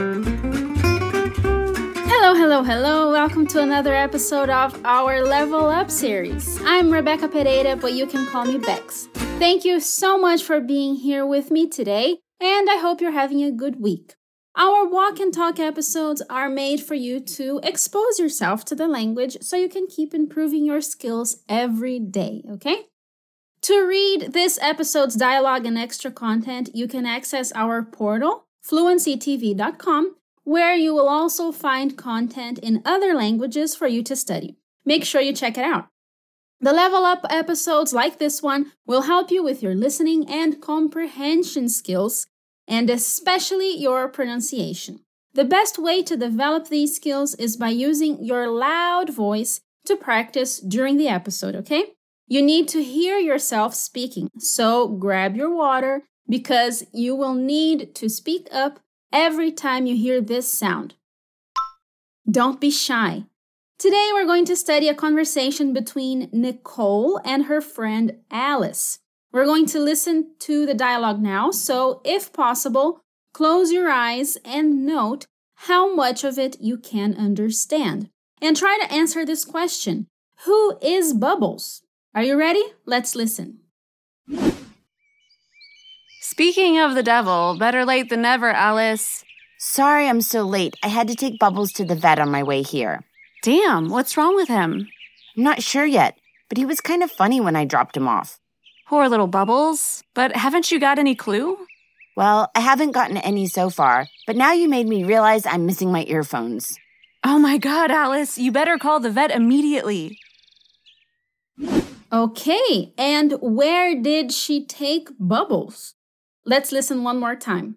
Hello. Welcome to another episode of our Level Up series. I'm Rebecca Pereira, but you can call me Bex. Thank you so much for being here with me today, and I hope you're having a good week. Our walk and talk episodes are made for you to expose yourself to the language so you can keep improving your skills every day, okay? To read this episode's dialogue and extra content, you can access our portal, fluencytv.com, where you will also find content in other languages for you to study. Make sure you check it out. The Level Up episodes like this one will help you with your listening and comprehension skills, and especially your pronunciation. The best way to develop these skills is by using your loud voice to practice during the episode, okay? You need to hear yourself speaking, so grab your water because you will need to speak up every time you hear this sound. Don't be shy. Today we're going to study a conversation between Nicole and her friend Alice. We're going to listen to the dialogue now, so if possible, close your eyes and note how much of it you can understand. And try to answer this question: who is Bubbles? Are you ready? Let's listen. Speaking of the devil, better late than never, Alice. Sorry I'm so late. I had to take Bubbles to the vet on my way here. Damn, what's wrong with him? I'm not sure yet, but he was kind of funny when I dropped him off. Poor little Bubbles. But haven't you got any clue? Well, I haven't gotten any so far, but now you made me realize I'm missing my earphones. Oh my God, Alice, you better call the vet immediately. Okay, and where did she take Bubbles? Let's listen one more time.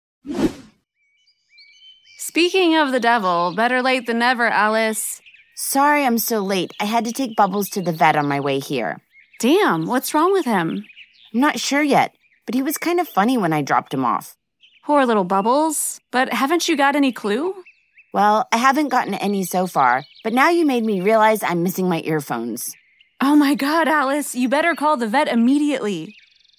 Speaking of the devil, better late than never, Alice. Sorry I'm so late. I had to take Bubbles to the vet on my way here. Damn, what's wrong with him? I'm not sure yet, but he was kind of funny when I dropped him off. Poor little Bubbles. But haven't you got any clue? Well, I haven't gotten any so far, but now you made me realize I'm missing my earphones. Oh my God, Alice, you better call the vet immediately.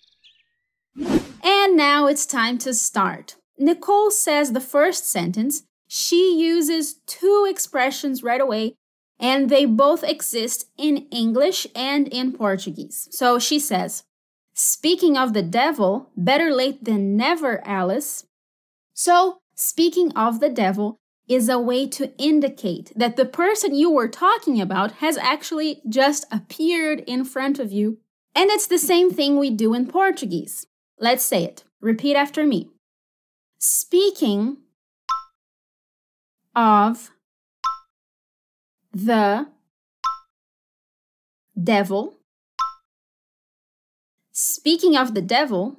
And now it's time to start. Nicole says the first sentence. She uses two expressions right away, and they both exist in English and in Portuguese. So she says, speaking of the devil, better late than never, Alice. So, speaking of the devil is a way to indicate that the person you were talking about has actually just appeared in front of you. And it's the same thing we do in Portuguese. Let's say it. Repeat after me. Speaking of the devil. Speaking of the devil.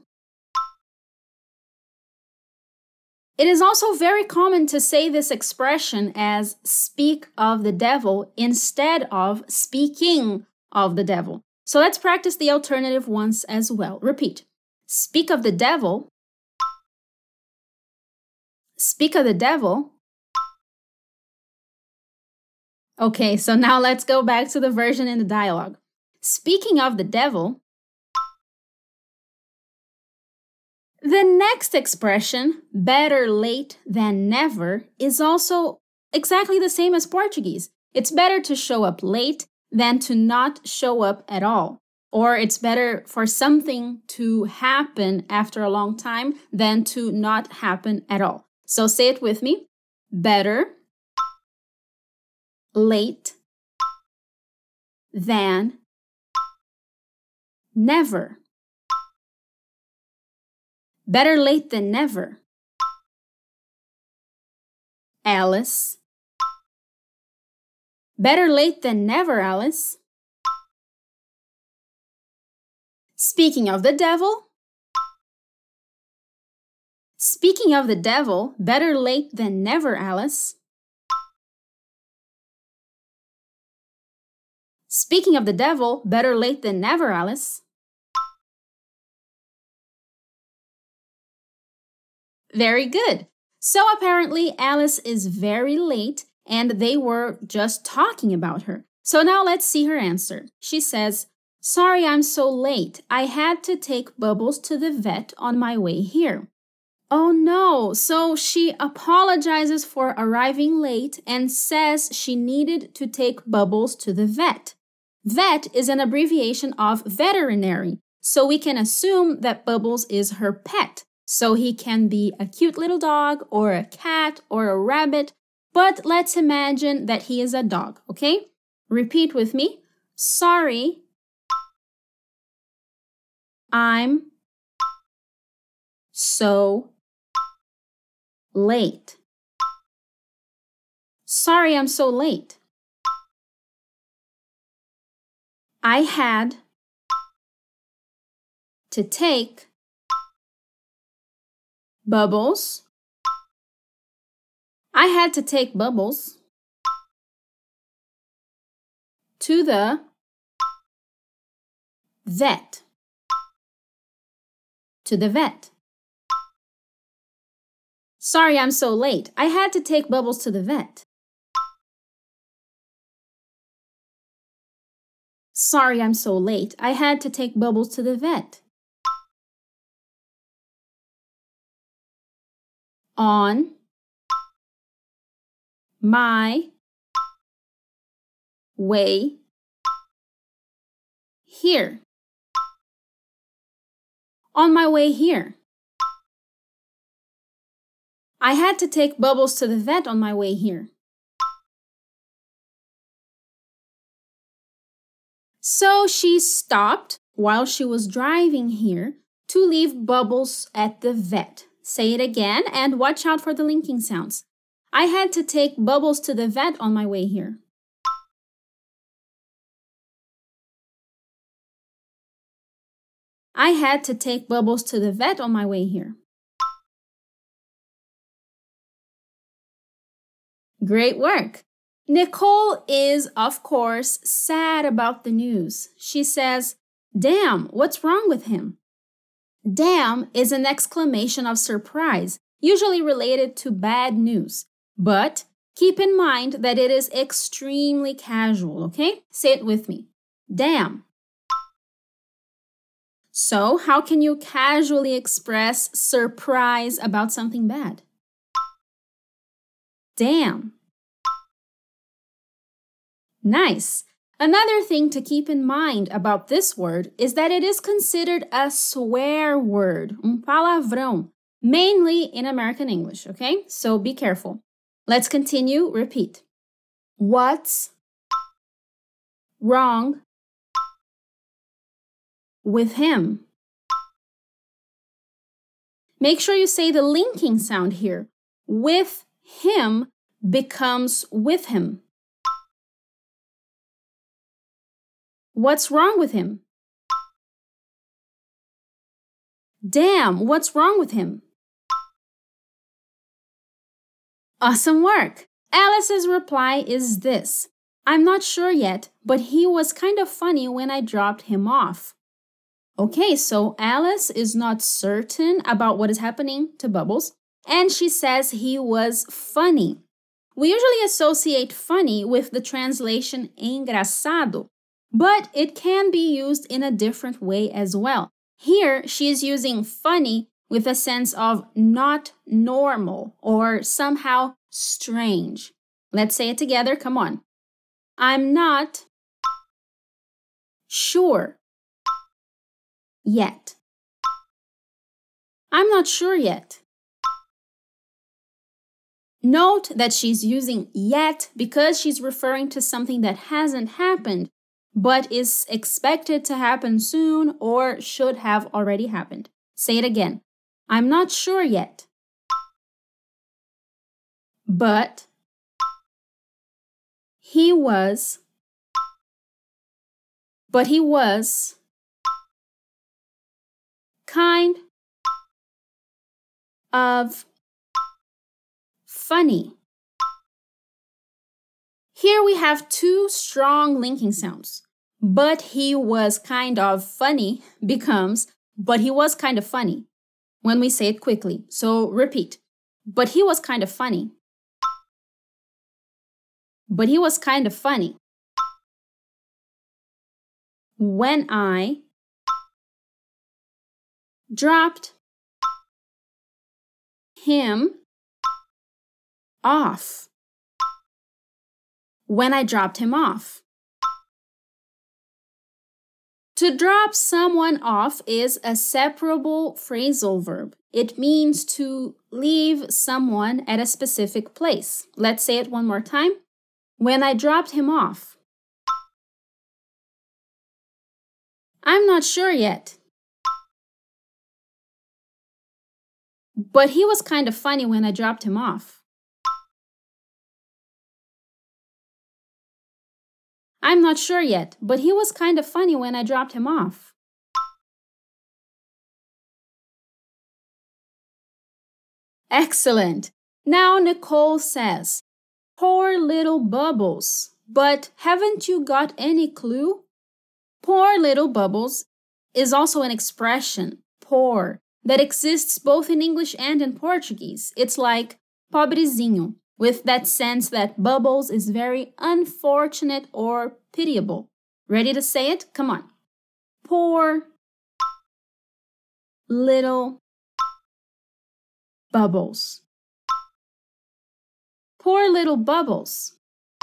It is also very common to say this expression as speak of the devil instead of speaking of the devil. So let's practice the alternative once as well. Repeat. Speak of the devil. Speak of the devil. Okay, so now let's go back to the version in the dialogue. Speaking of the devil. The next expression, better late than never, is also exactly the same as Portuguese. It's better to show up late than to not show up at all. Or it's better for something to happen after a long time than to not happen at all. So say it with me. Better late than never. Better late than never. Alice. Better late than never, Alice. Speaking of the devil. Speaking of the devil, better late than never, Alice. Speaking of the devil, better late than never, Alice. Very good. So apparently Alice is very late and they were just talking about her. So now let's see her answer. She says, "Sorry I'm so late. I had to take Bubbles to the vet on my way here." Oh no, so she apologizes for arriving late and says she needed to take Bubbles to the vet. Vet is an abbreviation of veterinary, so we can assume that Bubbles is her pet. So he can be a cute little dog or a cat or a rabbit, but let's imagine that he is a dog, okay? Repeat with me. Sorry, I'm so late. Sorry, I'm so late. I had to take Bubbles. I had to take Bubbles to the vet. To the vet. Sorry, I'm so late. I had to take Bubbles to the vet. Sorry, I'm so late. I had to take Bubbles to the vet. On my way here. On my way here. I had to take Bubbles to the vet on my way here. So she stopped while she was driving here to leave Bubbles at the vet. Say it again and watch out for the linking sounds. I had to take Bubbles to the vet on my way here. I had to take Bubbles to the vet on my way here. Great work! Nicole is, of course, sad about the news. She says, "Damn, what's wrong with him?" Damn is an exclamation of surprise, usually related to bad news. But keep in mind that it is extremely casual, okay? Say it with me. Damn. So, how can you casually express surprise about something bad? Damn. Nice. Another thing to keep in mind about this word is that it is considered a swear word, palavrão, mainly in American English, okay? So be careful. Let's continue. Repeat. What's wrong with him? Make sure you say the linking sound here. With him becomes with him. What's wrong with him? Damn, what's wrong with him? Awesome work! Alice's reply is this. I'm not sure yet, but he was kind of funny when I dropped him off. Okay, so Alice is not certain about what is happening to Bubbles, and she says he was funny. We usually associate funny with the translation engraçado, but it can be used in a different way as well. Here, she is using funny with a sense of not normal or somehow strange. Let's say it together. Come on. I'm not sure yet. I'm not sure yet. Note that she's using yet because she's referring to something that hasn't happened, but is expected to happen soon or should have already happened. Say it again. I'm not sure yet. But he was kind of funny. Here we have two strong linking sounds. But he was kind of funny becomes, but he was kind of funny when we say it quickly. So repeat. But he was kind of funny. But he was kind of funny. When I dropped him off. When I dropped him off. To drop someone off is a separable phrasal verb. It means to leave someone at a specific place. Let's say it one more time. When I dropped him off. I'm not sure yet. But he was kind of funny when I dropped him off. I'm not sure yet, but he was kind of funny when I dropped him off. Excellent. Now Nicole says, poor little Bubbles, but haven't you got any clue? Poor little Bubbles is also an expression, poor, that exists both in English and in Portuguese. It's like pobrezinho, with that sense that Bubbles is very unfortunate or pitiable. Ready to say it? Come on. Poor little Bubbles. Poor little Bubbles.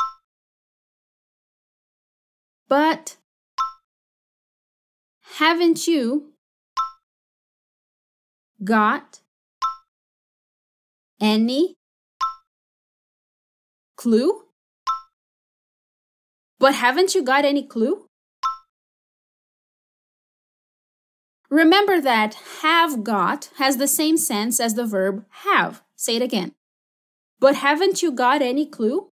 But haven't you got any clue? But haven't you got any clue? Remember that have got has the same sense as the verb have. Say it again. But haven't you got any clue?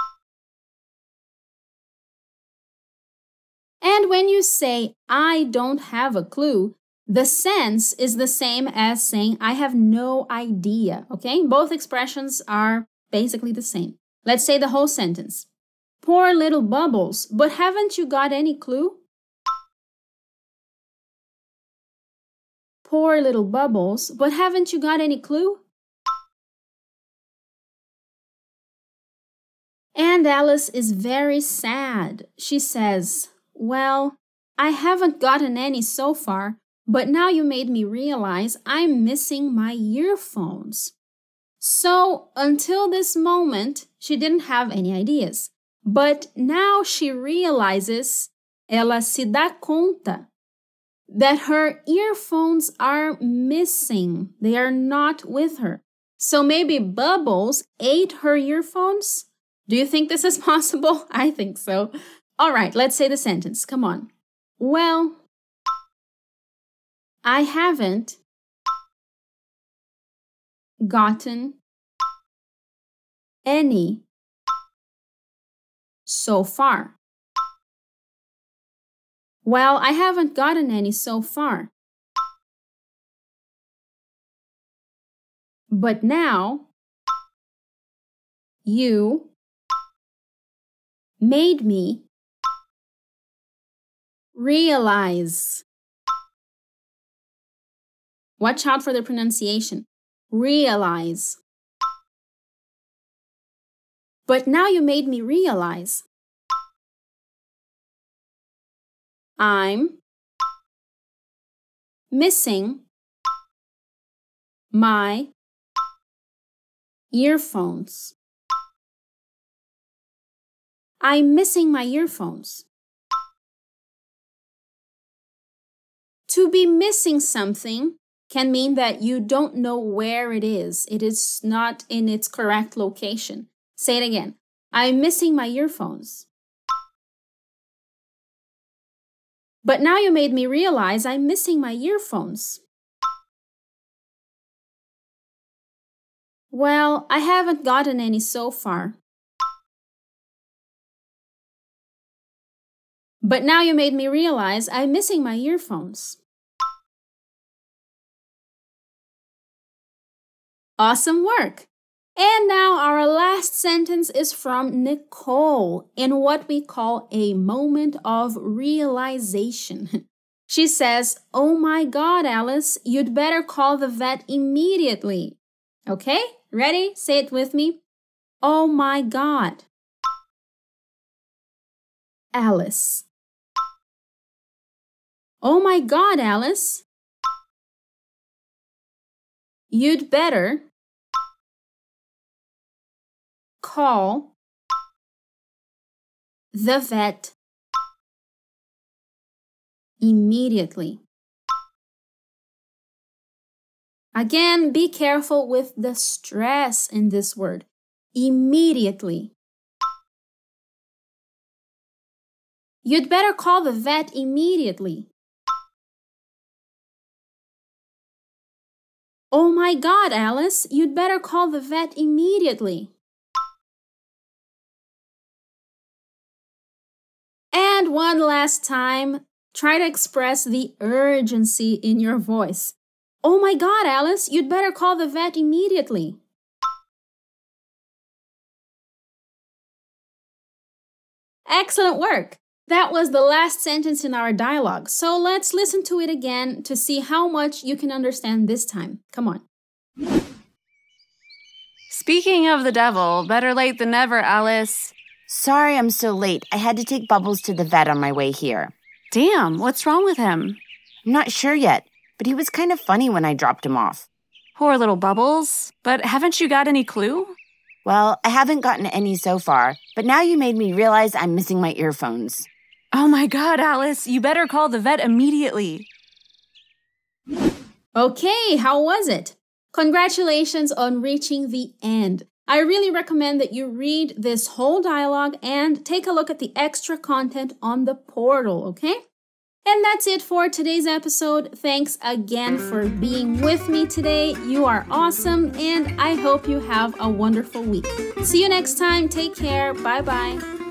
And when you say, I don't have a clue, the sense is the same as saying, I have no idea, okay? Both expressions are basically the same. Let's say the whole sentence. Poor little Bubbles, but haven't you got any clue? Poor little Bubbles, but haven't you got any clue? And Alice is very sad. She says, well, I haven't gotten any so far, but now you made me realize I'm missing my earphones. So until this moment, she didn't have any ideas. But now she realizes, ela se dá conta, that her earphones are missing. They are not with her. So maybe Bubbles ate her earphones? Do you think this is possible? I think so. All right, let's say the sentence. Come on. Well, I haven't gotten any so far. Well, I haven't gotten any so far. But now, you made me realize. Watch out for the pronunciation. Realize. But now you made me realize. I'm missing my earphones. I'm missing my earphones. To be missing something can mean that you don't know where it is. It is not in its correct location. Say it again. I'm missing my earphones. But now you made me realize I'm missing my earphones. Well, I haven't gotten any so far. But now you made me realize I'm missing my earphones. Awesome work! And now our last sentence is from Nicole in what we call a moment of realization. She says, oh my God, Alice, you'd better call the vet immediately. Okay, ready? Say it with me. Oh my God. Alice. Oh my God, Alice. You'd better call the vet immediately. Again, be careful with the stress in this word. Immediately. You'd better call the vet immediately. Oh my God, Alice, you'd better call the vet immediately. And one last time, try to express the urgency in your voice. Oh my God, Alice, you'd better call the vet immediately. Excellent work! That was the last sentence in our dialogue, so let's listen to it again to see how much you can understand this time. Come on. Speaking of the devil, better late than never, Alice. Sorry I'm so late. I had to take Bubbles to the vet on my way here. Damn, what's wrong with him? I'm not sure yet, but he was kind of funny when I dropped him off. Poor little Bubbles. But haven't you got any clue? Well, I haven't gotten any so far, but now you made me realize I'm missing my earphones. Oh my God, Alice, you better call the vet immediately. Okay, how was it? Congratulations on reaching the end. I really recommend that you read this whole dialogue and take a look at the extra content on the portal, okay? And that's it for today's episode. Thanks again for being with me today. You are awesome, and I hope you have a wonderful week. See you next time. Take care. Bye-bye.